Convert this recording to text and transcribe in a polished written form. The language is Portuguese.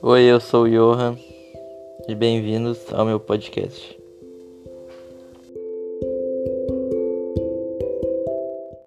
Oi, eu sou o Johan e bem-vindos ao meu podcast.